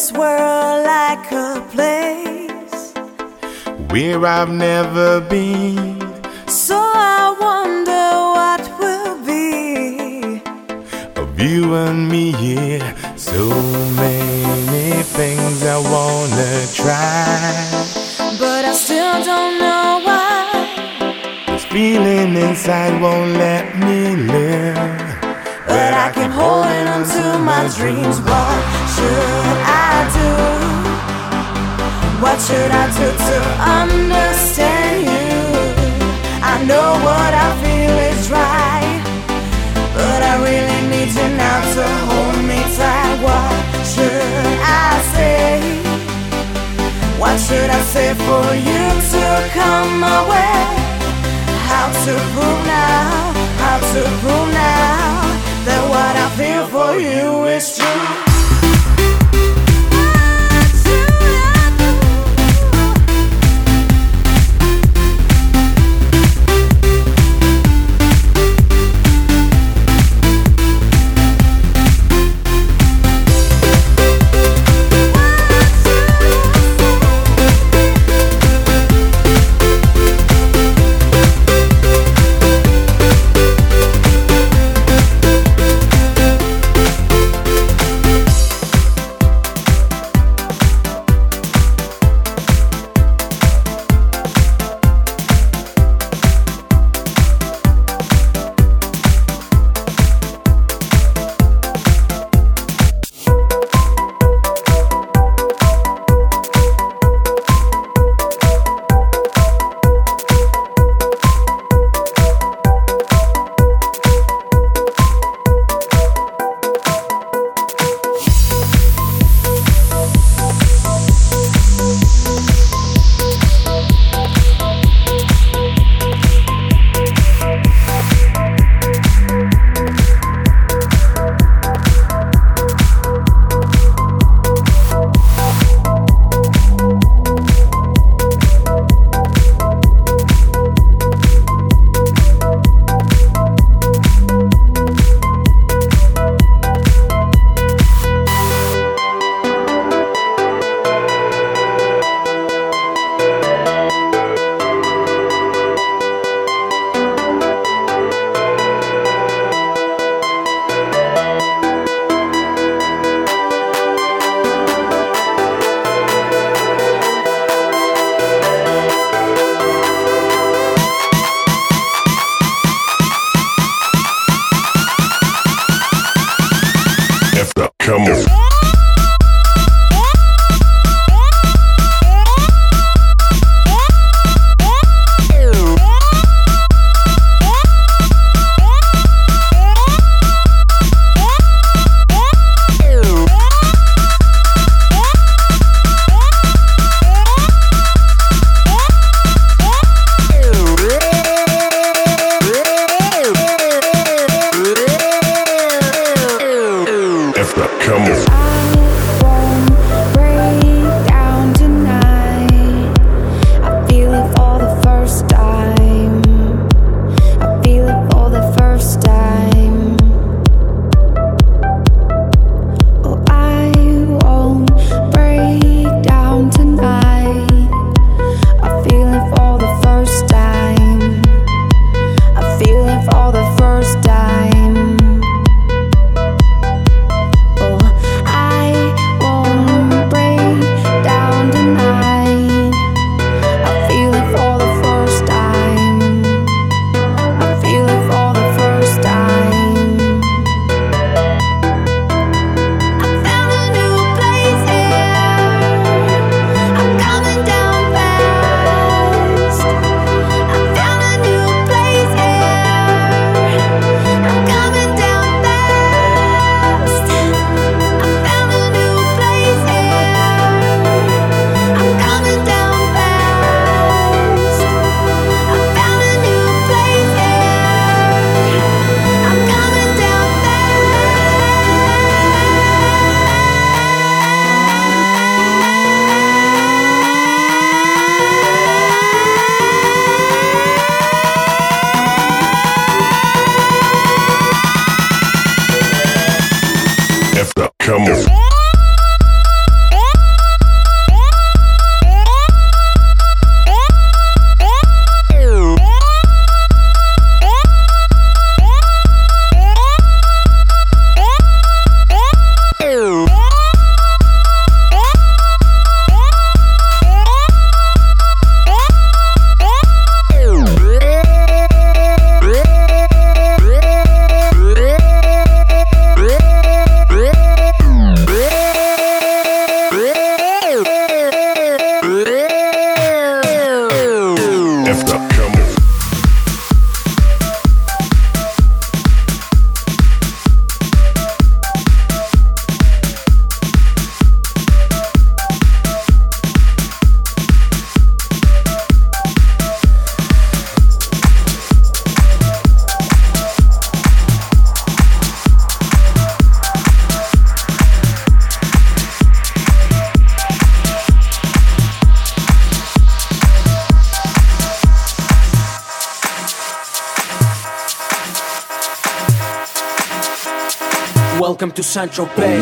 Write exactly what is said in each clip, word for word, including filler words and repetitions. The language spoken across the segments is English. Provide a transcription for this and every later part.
this world like a place where I've never been. So I wonder what will be of you and me, yeah. So many things I wanna try, but I still don't know why. This feeling inside won't let me live, but I keep holding on to my dreams. What should I do? What should I do to understand you? I know what I feel is right, but I really need you now to hold me tight. What should I say? What should I say for you to come my way? How to prove now, how to prove now that what I feel for you is true. Come on. Come on. Welcome to Saint-Tropez.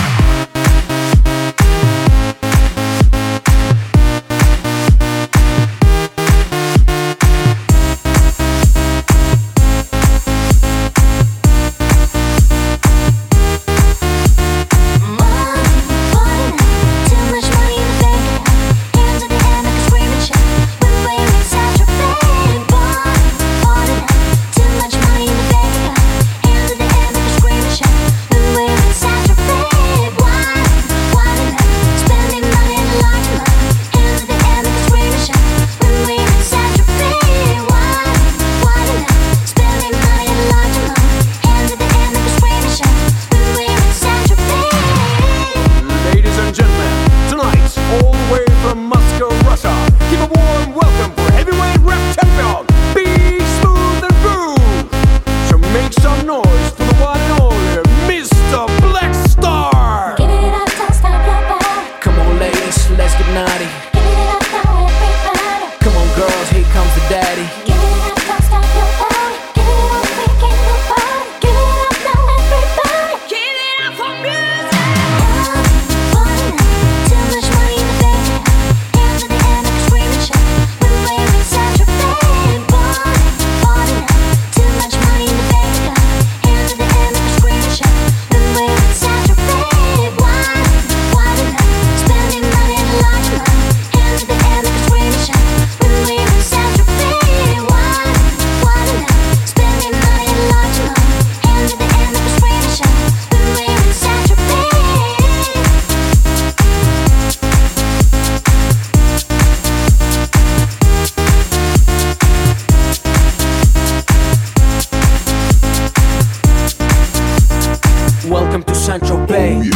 Welcome to Saint-Tropez.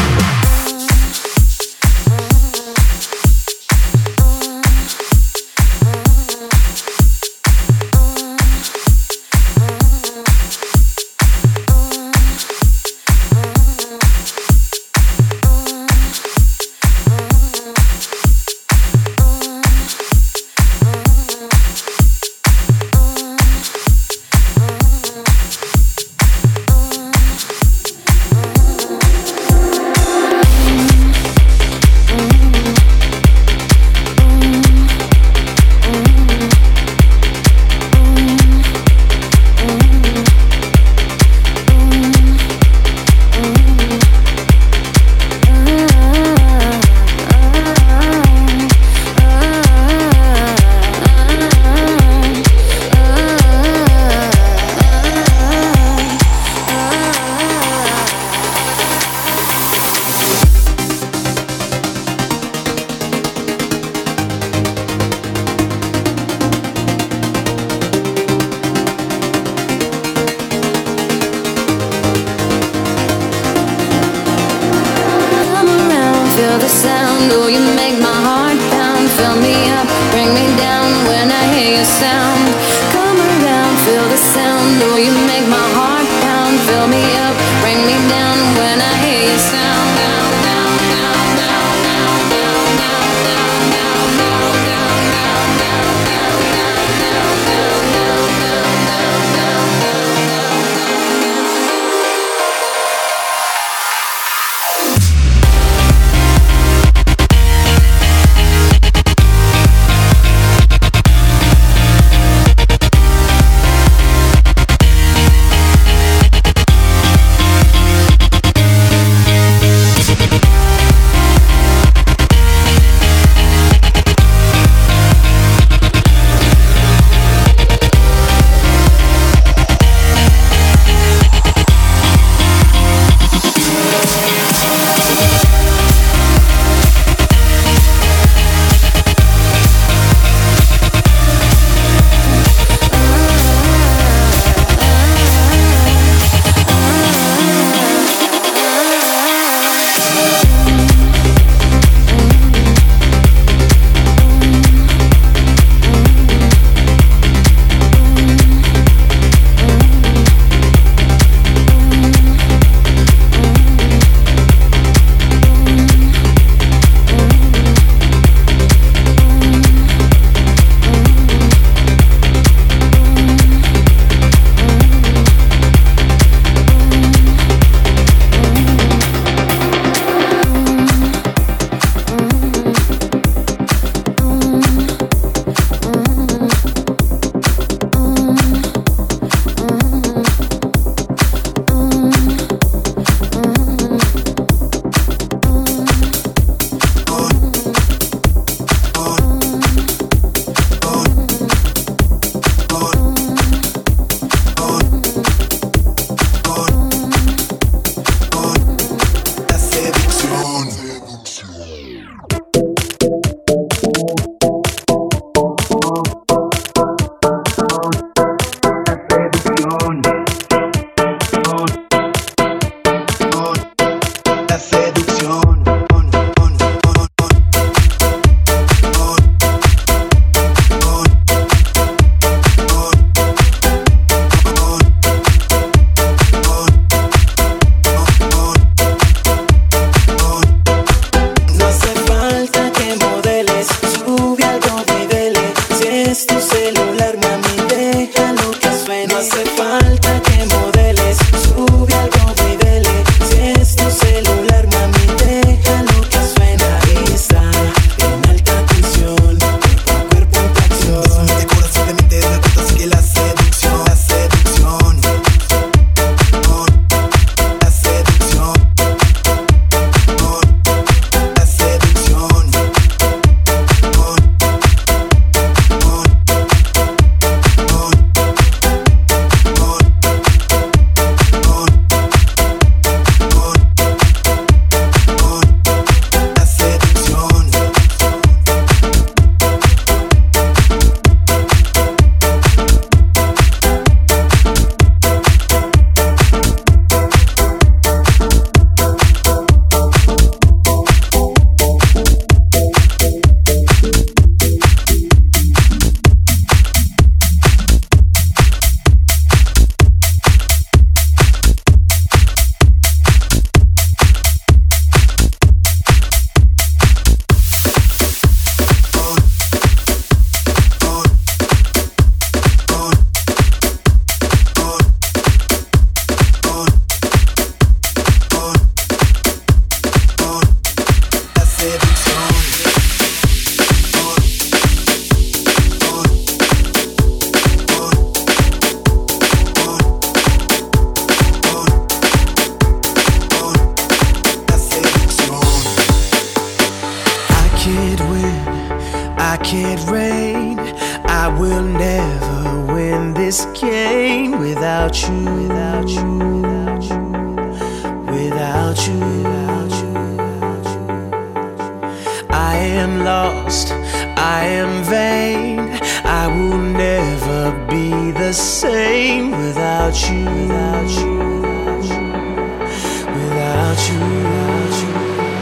can't reign. I will never win this game without you, without you, without you, without you, without you, without you. I am lost, I am vain. I will never be the same without you, without you, without you, without you, without you.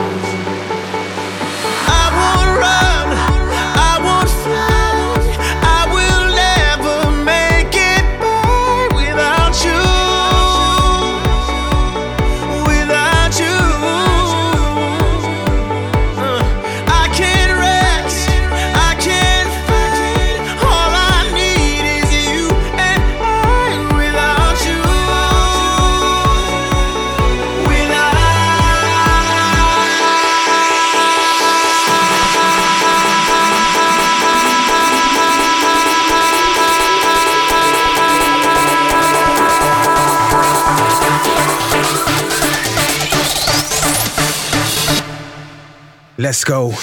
I won't run, I won't fly, I will never make it by without you, without you. Uh, I can't rest, I can't fight. All I need is you and I without you, without. Let's go.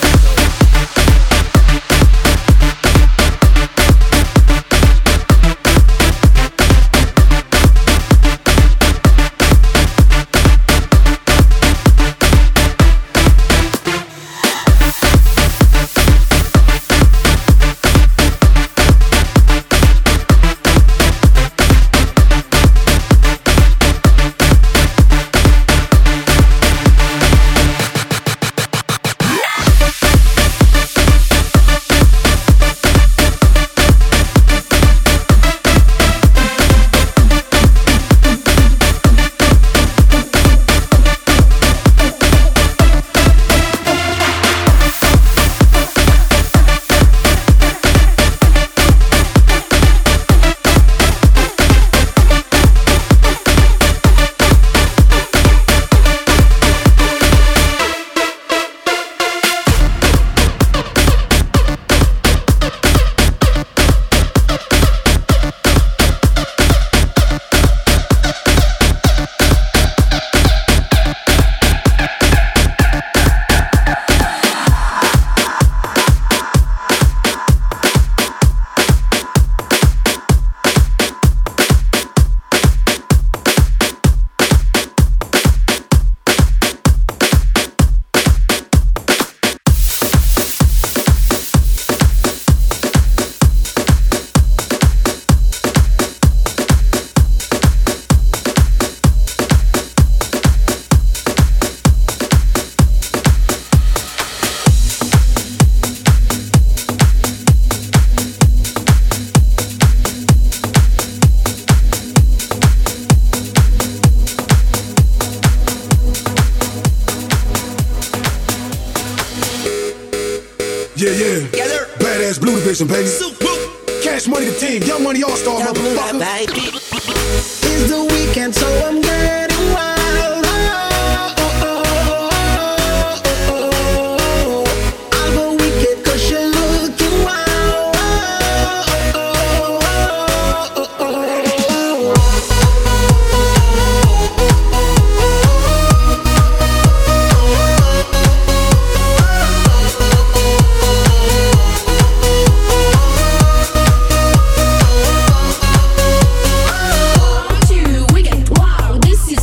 Yeah, yeah. Together. Badass Blue Division, baby. Cash Money the team. Young Money All-Star, motherfucker. It's the weekend, so I'm getting wild. Oh, oh, oh, oh, oh, oh. I'll go wicked 'cause you're looking wild. Oh, oh, oh, oh, oh, Two, we get wow, this is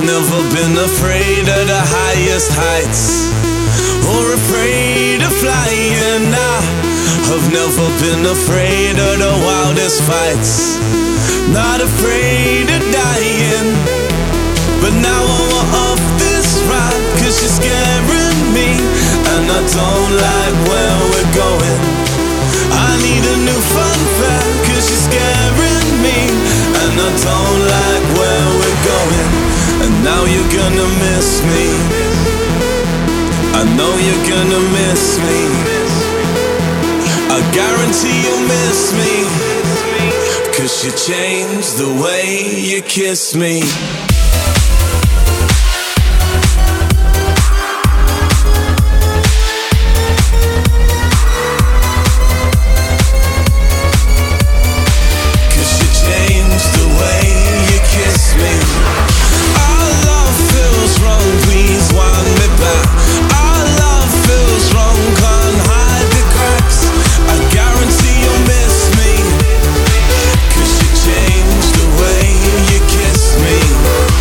never been afraid of the highest heights, or afraid of flying. I've never been afraid of the wildest fights, not afraid of dying. But now I'm off this ride, cause you're scaring me, and I don't like where we're going. I need a new fun fact, cause you're scaring me, and I don't like where we're going. And now you're gonna miss me, I know you're gonna miss me, I guarantee you'll miss me, cause you changed the way you kiss me. Me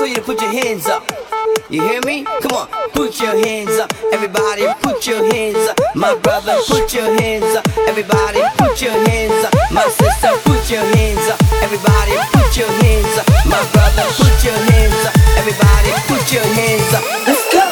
told you to put your hands up. You hear me? Come on, put your hands up. Everybody put your hands up. My brother, put your hands up. Everybody put your hands up. My sister, put your hands up. Everybody put your hands up. My brother, put your hands up. Everybody put your hands up. Let's go.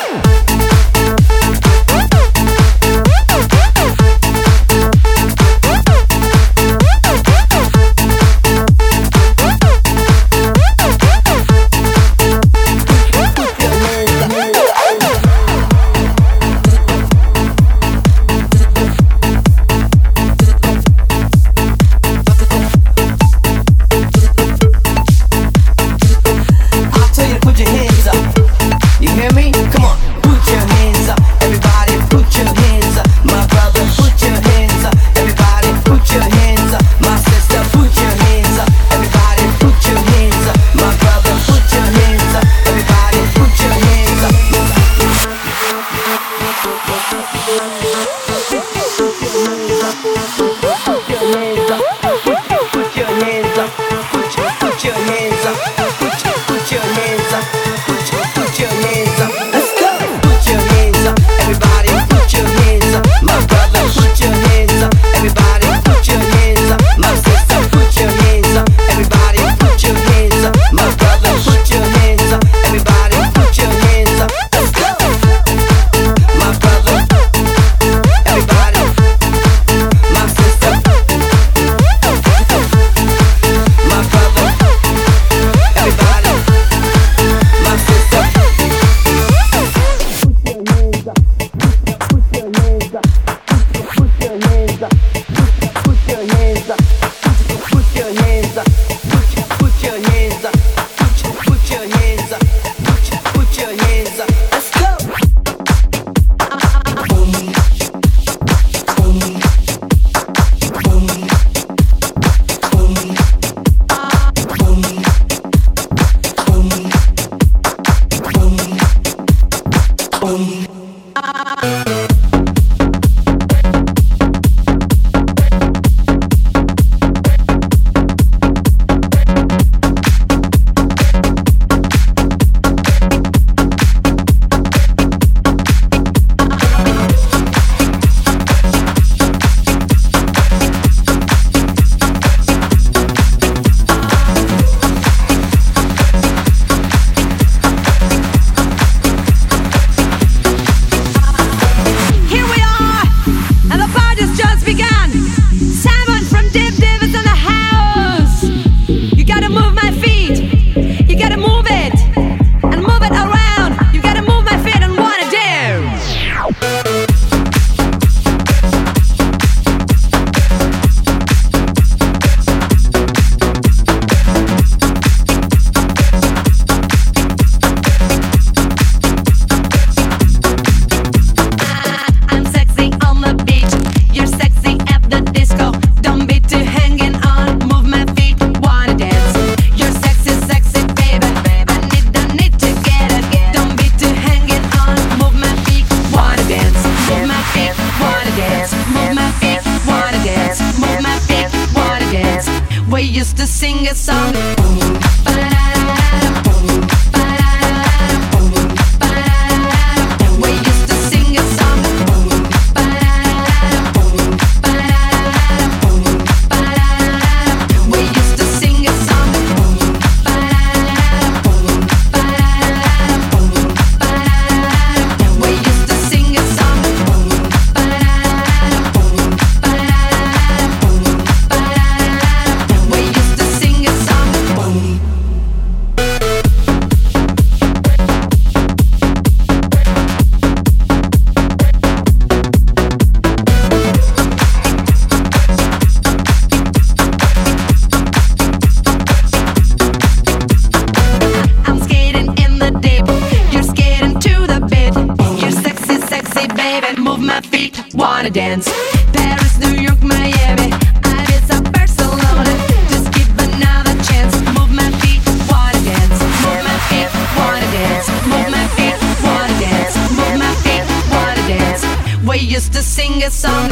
Dance. Paris, New York, Miami, Ibiza, Barcelona. Just give another chance. Move my feet, wanna dance. Move my feet, wanna dance. Move my feet, wanna dance. Move my feet, wanna dance. We used to sing a song.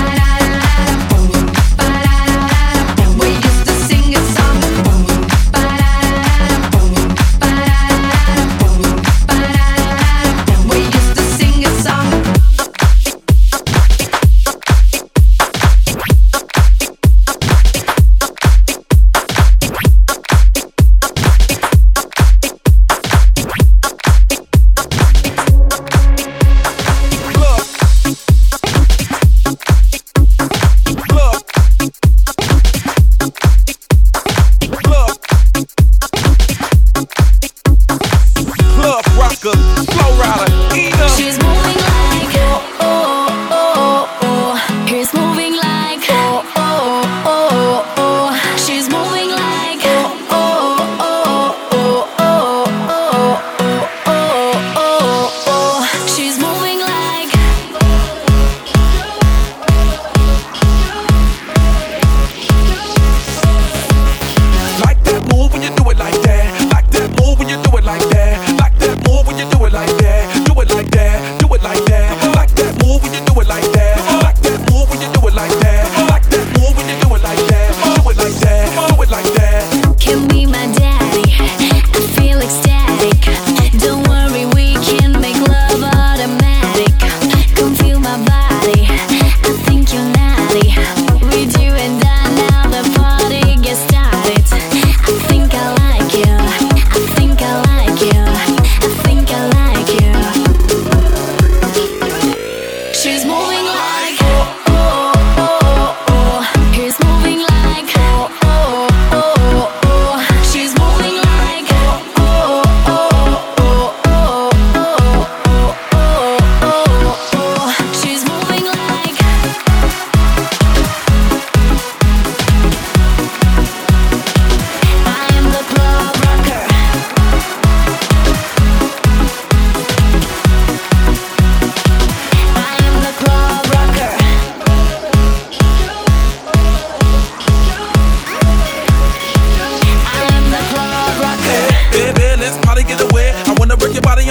We used to sing a song.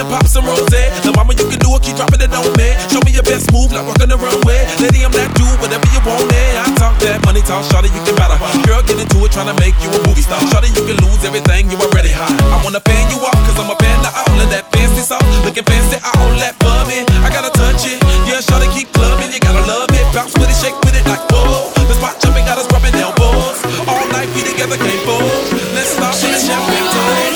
pop some rose. The mama you can do it, keep dropping it on me. Show me your best move, like walking the runway. Lady, I'm that dude, whatever you want it. I talk that money talk, shawty, you can better. Girl, get into it, tryna make you a movie star. Shawty, you can lose everything, you already high. I wanna fan you off, cause I'm a fan of all of that fancy sauce. Looking fancy, all that bumming. I gotta touch it, yeah, shawty, keep clubbing. You gotta love it, bounce with it, shake with it like whoa. The spot jumping, got us rubbing elbows. All night, we together, can't fold. Let's stop for the champagne time.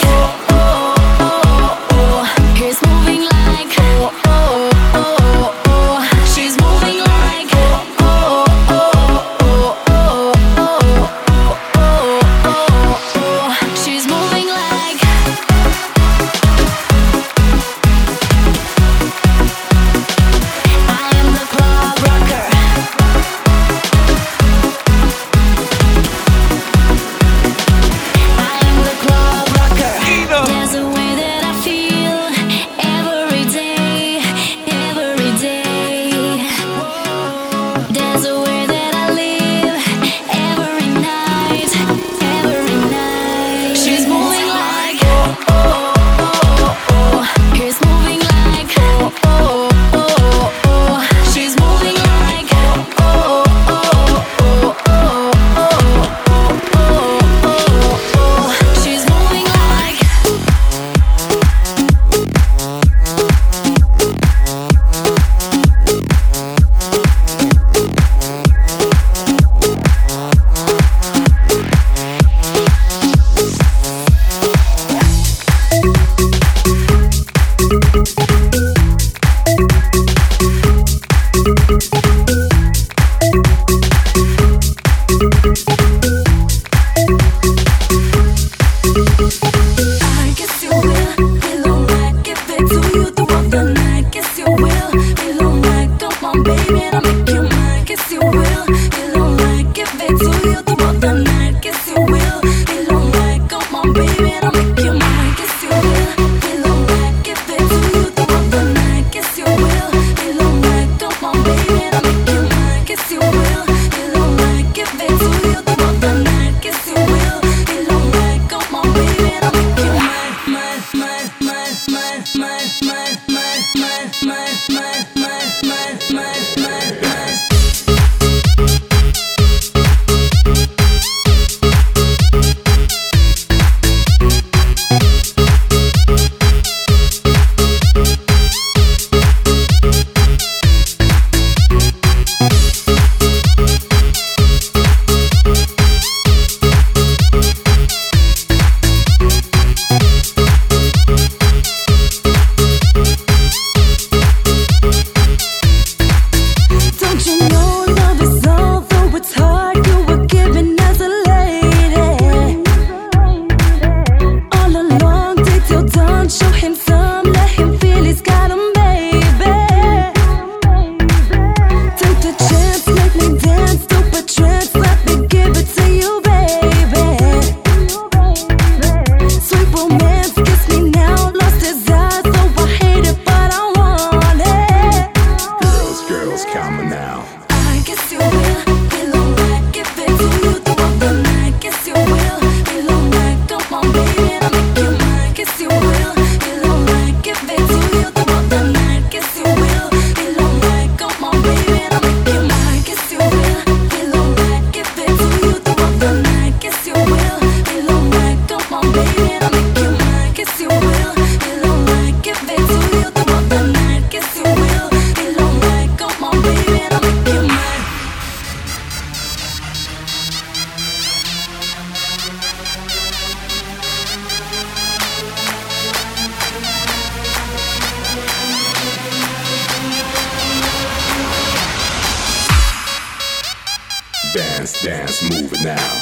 Dance, dance, move it now.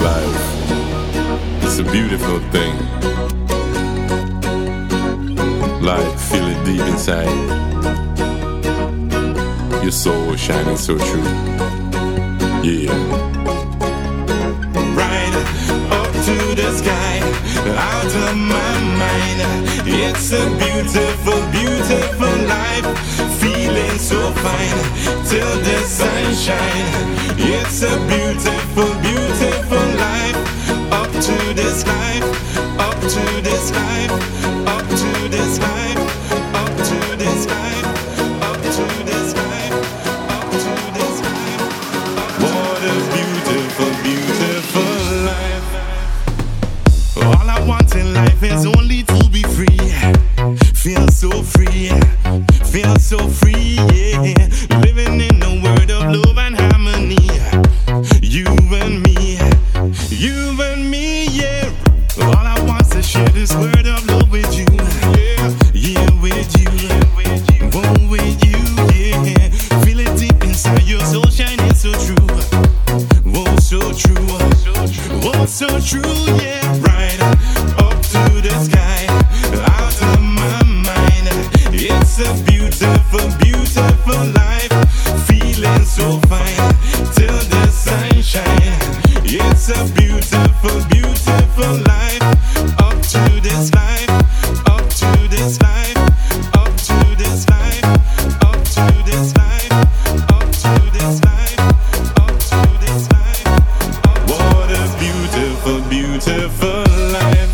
life. It's a beautiful thing. Like, feel it deep inside. Your soul shining so true. Yeah. Right up to the sky, out of my mind. It's a beautiful, beautiful life. Feeling so fine till the sunshine. It's a beautiful, beautiful life. Up to this life, up to this life, up to this life, up to this life, up to this life, up to this life. What a beautiful, beautiful life. All I want in life is only to be free. Feel so free, feel so free, yeah. Living in a world of love and harmony. You and me, you and me, yeah. All I want is to share this word of love with you, yeah, yeah, with you, oh, with you, yeah. Feel it deep inside your soul, shining so true, oh, so true, oh, so true, yeah. Right up to the sky, out of my mind. It's a beautiful, beautiful life. Feeling so fine till the sunshine. It's a beautiful, beautiful life. Up to this life, up to this life, up to this life, up to this life, up to this life, up to this life. What a beautiful, beautiful life.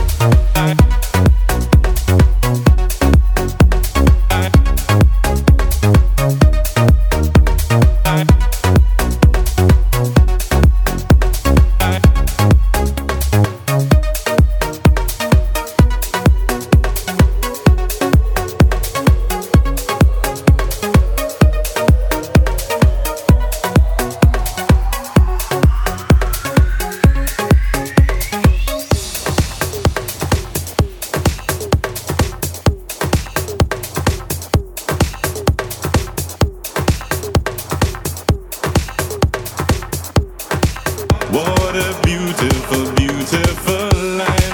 What a beautiful, beautiful life.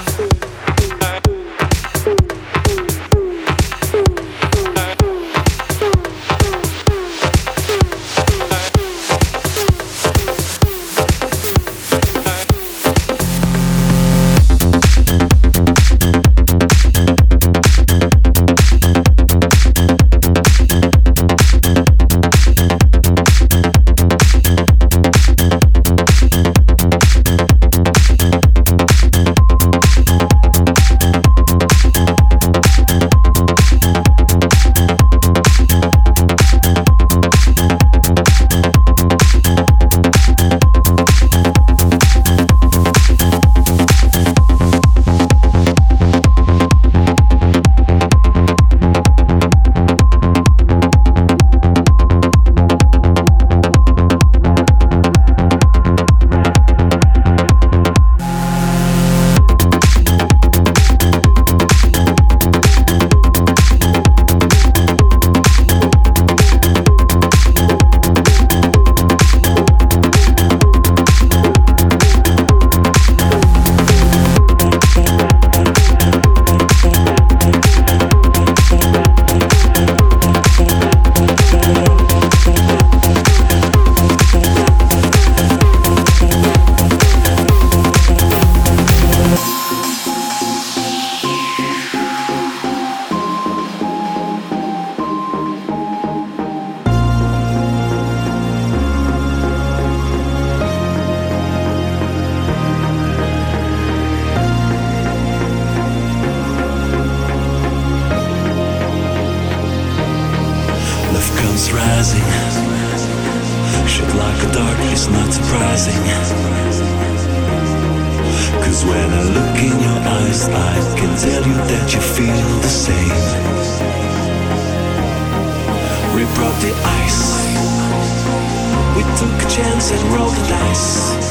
rising. Shit like a dark is not surprising. Cause when I look in your eyes, I can tell you that you feel the same. We broke the ice. We took a chance and rolled the dice.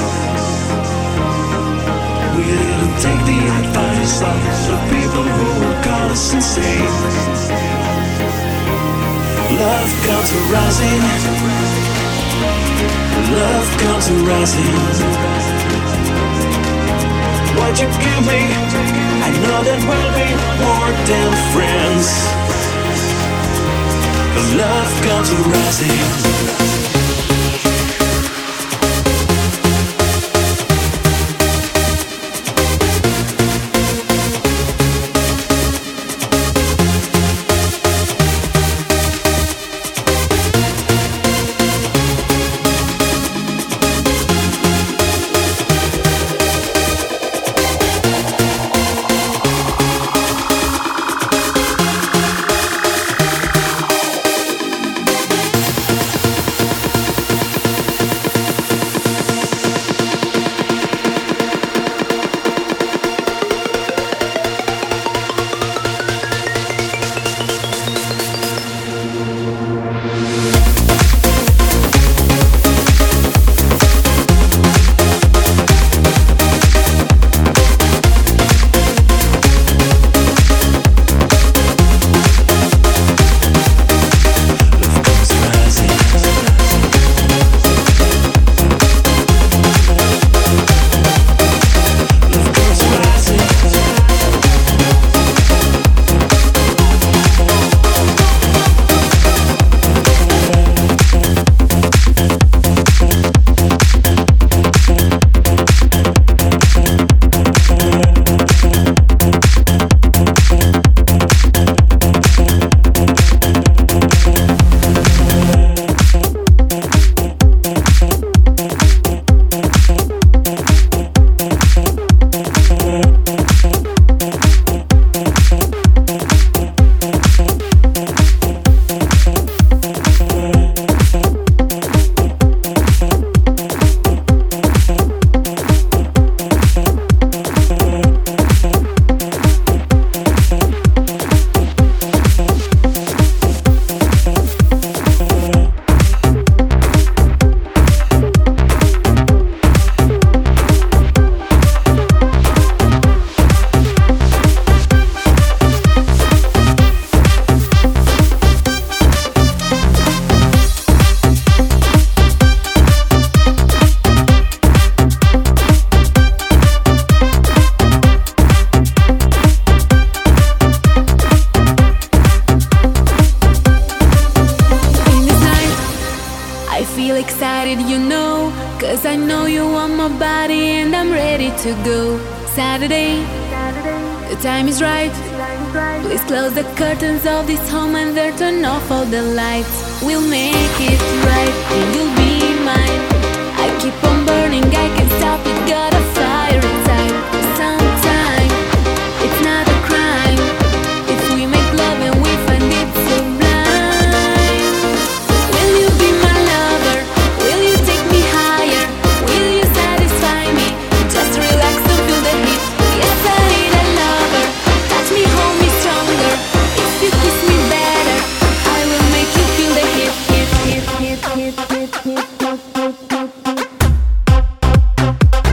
We didn't take the advice of the people who will call us insane. Love comes arising. Love comes arising. what you give me, I know that we'll be more than friends. Love comes rising. To go Saturday, the time is right. Please close the curtains of this home and there turn off all the lights. We'll make it right and you'll be mine. I keep on burning, I can't stop it. Got a fire inside. Sometime it's not a crime if we make love and we find it sublime. Will you be my lover? Will you take me higher? Will you satisfy me? Just relax and feel the heat. Yes, I need a lover. Touch me, hold me stronger. If you kiss me better, I will make you feel the heat, heat, heat, heat, heat, heat, heat, heat, heat, heat.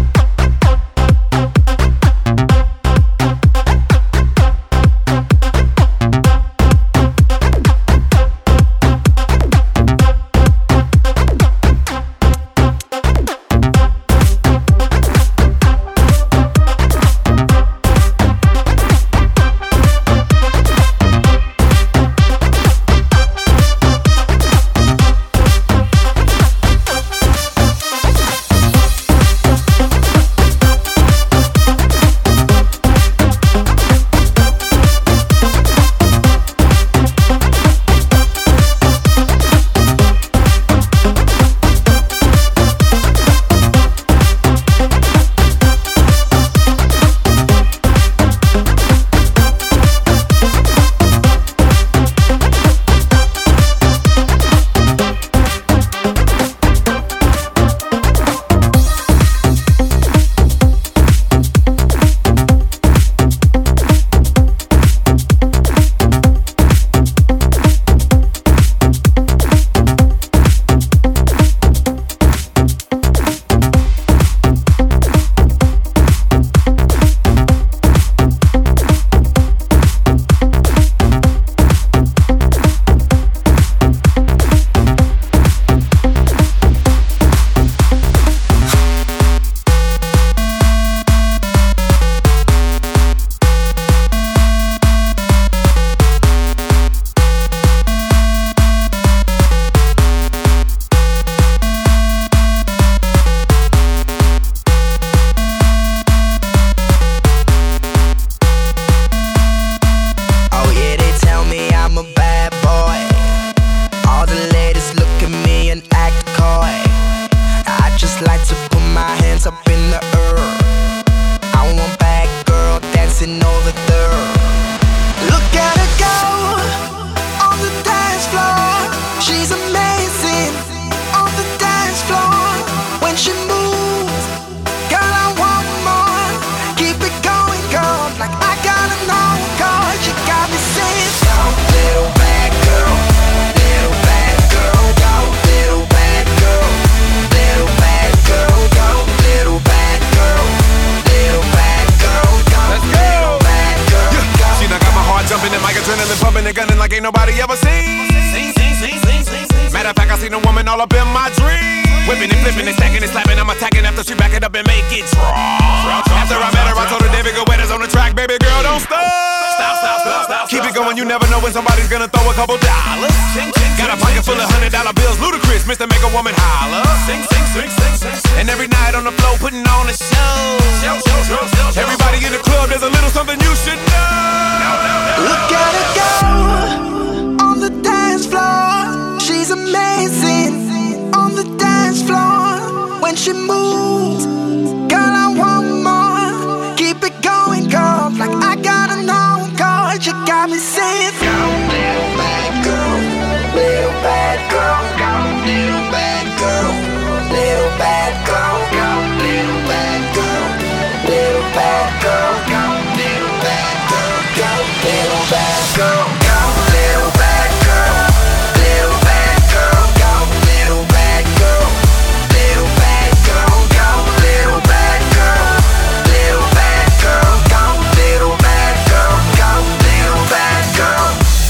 like ain't nobody ever seen. Matter of fact, I seen a woman all up in my dreams. Whipping and flipping and stacking and slapping. I'm attacking after she back it up and make it drop. After I met her, I told her, David Guetta's on the track. Baby girl, don't stop. Stop, stop, stop, stop. Keep it going, you never know when somebody's gonna throw a couple dollars. Got a pocket full of hundred dollar bills, ludicrous, Mister Make a Woman holler. And every night on the floor, putting on a show. Everybody in the club, there's a little something you should know. Look at her go on the dance floor. She's amazing on the dance floor. When she moves, girl, I want more. Keep it going, girl, like I gotta know, girl. You got me saying, go, little bad girl, little bad girl, go, little bad girl, little bad girl, go, little bad girl, little bad girl, go, little bad girl, go, little bad girl, go, little bad girl, little bad girl, go, little bad girl, little bad girl, go, little bad girl, little bad girl, go, little bad girl, go, little bad girl.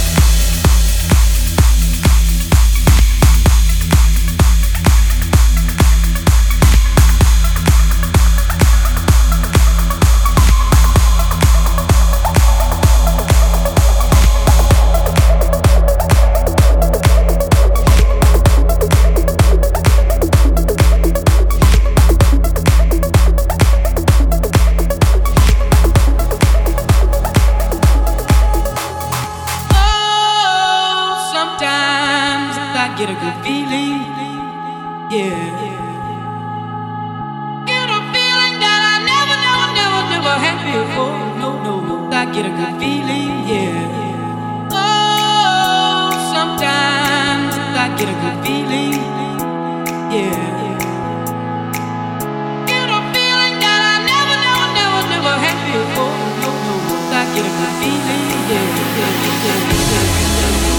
Sometimes I get a good feeling, yeah. Get a feeling that I never, never, never, never had before. No, no, no. I get a good feeling, yeah. Oh, sometimes I get a good feeling, yeah. Get a feeling that I never, never, never, never had before. No, no, no. I get a good feeling, yeah, yeah, yeah, yeah, yeah.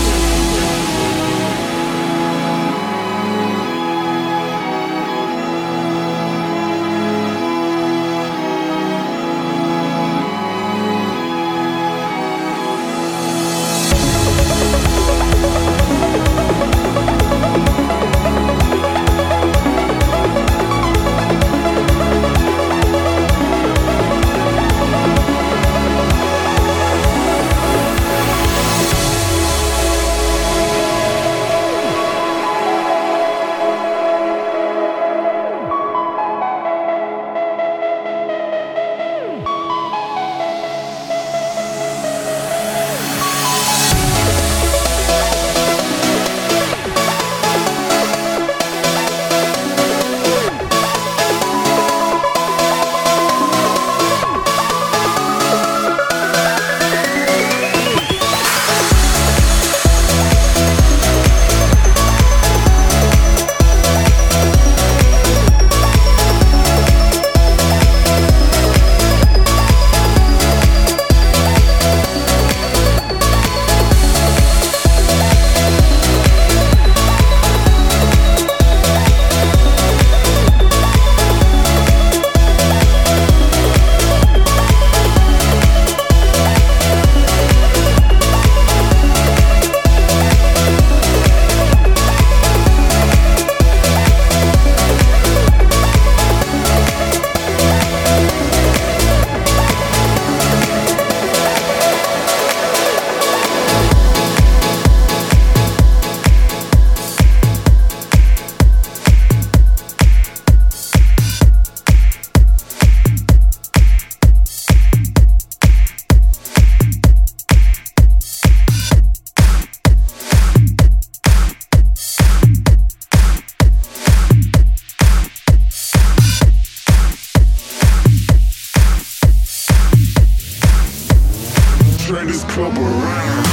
Turn this club around.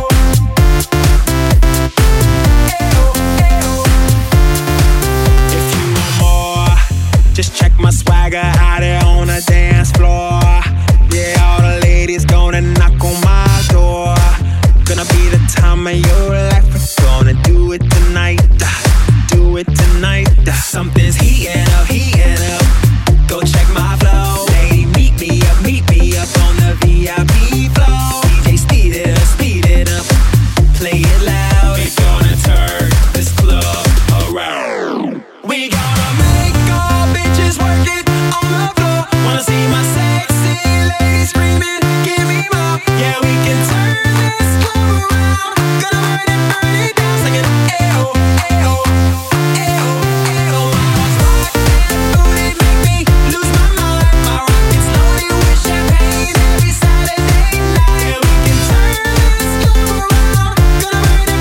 If time of your life. We're gonna do it tonight, do it tonight. Something's heating up, heating up. Go check my flow. Lady, meet me up, meet me up on the V I P flow. D J, speed it up, speed it up. Play it loud. We're gonna turn this club around. We gonna make all bitches work it on the floor. Wanna see my sexy lady screaming, give me more. Yeah, we can turn this club around. Gonna burn it, burn it down. Sing it, ayo, ayo, ayo, ayo. Rock that booty, make me lose my mind. My rocket's loaded with champagne every Saturday night. Yeah, we can turn this club around. Gonna burn it,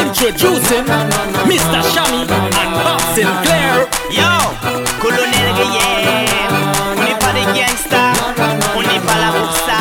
Introducing Mister Shammy and Bob Sinclair. Yo, Colonel Gueye, on n'est pas des gangsters, on n'est pas la boursa.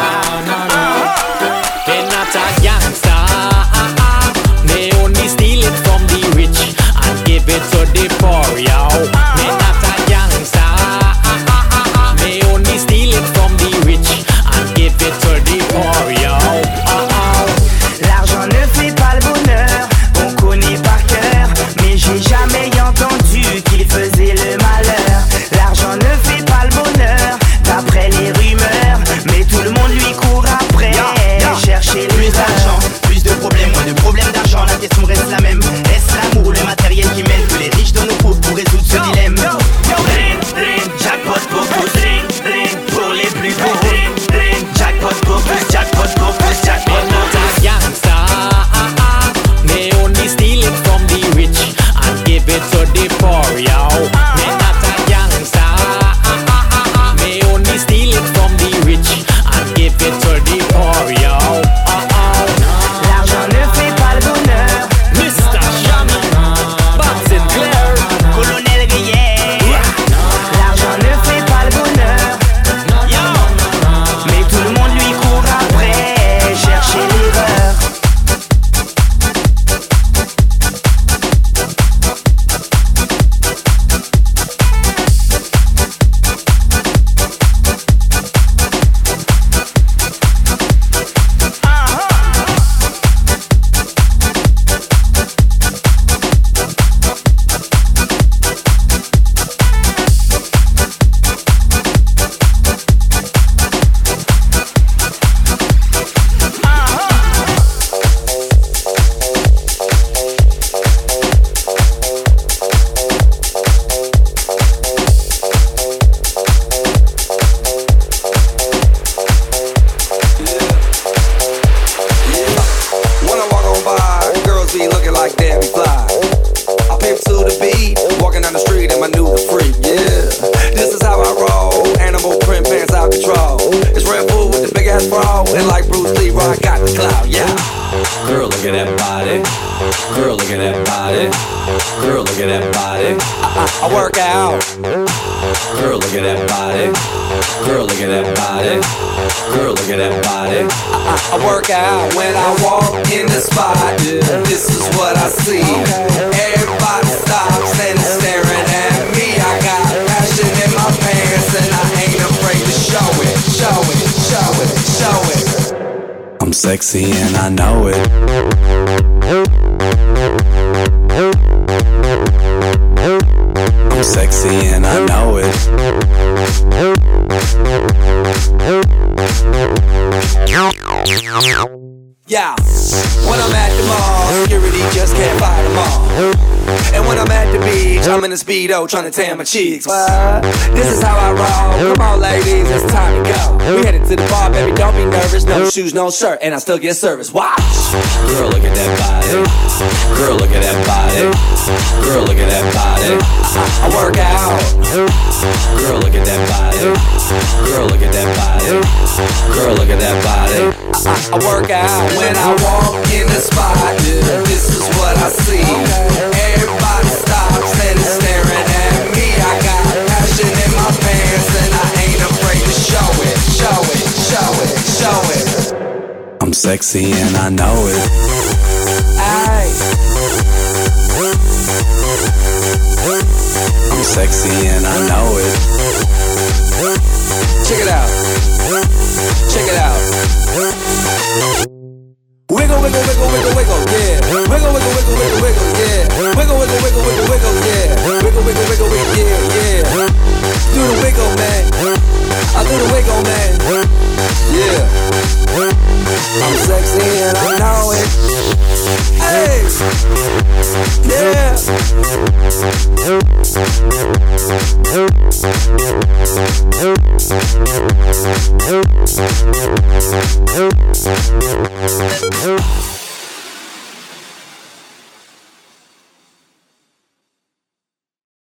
They're not a gangster, they only steal it from the rich and give it to the poor, yo. They're not a gangster, they only steal it from the rich and give it to the poor, yo. L'argent ne fait pas le bonheur, on connaît par cœur, mais j'ai jamais entendu qu'il faisait le malheur. L'argent ne fait pas le bonheur, d'après les rumeurs, mais tout le monde lui court après, chercher les plus d'argent, plus de problèmes, moins de problèmes d'argent, la question reste la même. Est-ce l'amour ou le matériel qui mène que les riches donnent aux pauvres pour résoudre ce dilemme? Ring, ring, jackpot pour tous, ring, ring, pour les plus beaux, ring, ring, jackpot pour tous, jackpot pour tous, jackpot pour tous. Gangster, they only steal it from the rich and give it to the poor, yo. They not a gangster, they only steal it from the rich and give it to the poor, yo. L'argent ne fait pas le bonheur, Mister Shammy, Bob Sinclair, Colonel Gueye. L'argent ne fait pas le bonheur, mais tout le monde lui court après, chercher l'erreur. When I walk on by, girls be looking like Debbie Fly. I pimp to the beat, walking down the street in my new freak, yeah. This is how I roll, animal print pants out control. It's Red Bull with the big ass bra, and like Bruce Lee, I got the clout, yeah. Girl, look at that body. Girl, look at that body. Girl, look at that body. I, I, I work out. Girl, look at that body. Girl, look at that body. Girl, look at that body. I, I, I work out when I walk in the spot. This is what I see. Everybody stops and is staring at me. I got passion in my pants and I ain't afraid to show it, show it, show it, show it. I'm sexy and I know it. I'm sexy and I know it. Yeah, when I'm at the mall, security just can't fight them all. And when I'm at the beach, I'm in a Speedo trying to tan my cheeks. What? This is how I roll. Come on, ladies, it's time to go. We headed to the bar, baby, don't be nervous. No shoes, no shirt, and I still get service. Watch. Girl, look at that body. Girl, look at that body. Girl, look at that body. I, I work out. Girl, look at that body. Girl, look at that body. Girl, look at that body. I, I work out when I walk in the spot. This is what I see. Everybody stops and is staring at me. I got passion in my pants and I ain't afraid to show it, show it, show it, show it. I'm sexy and I know it. Aye. I'm sexy and I know it. Check it out. Check it out. Wiggle, wiggle, wiggle, wiggle, wiggle, yeah. Wiggle, wiggle, wiggle, wiggle, wiggle, yeah. Wiggle, wiggle, wiggle, wiggle, wiggle, yeah. Wiggle, wiggle, wiggle, wiggle, yeah, yeah. Do the wiggle, man. I do the wiggle, man. Yeah. I'm sexy and I know it. Hey.